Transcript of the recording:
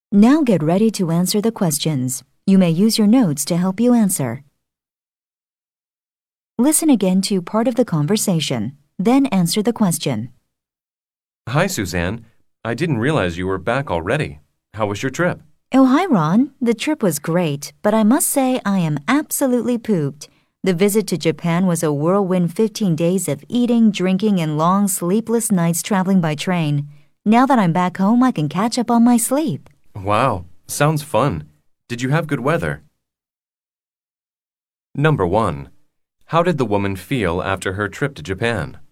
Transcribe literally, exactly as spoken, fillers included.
Now get ready to answer the questions. You may use your notes to help you answer. Listen again to part of the conversation, then answer the question. Hi, Suzanne. I didn't realize you were back already. How was your trip? Oh, hi, Ron. The trip was great, but I must say I am absolutely pooped. The visit to Japan was a whirlwind fifteen days of eating, drinking, and long sleepless nights traveling by train. Now that I'm back home, I can catch up on my sleep. Wow, sounds fun. Did you have good weather? Number one. How did the woman feel after her trip to Japan?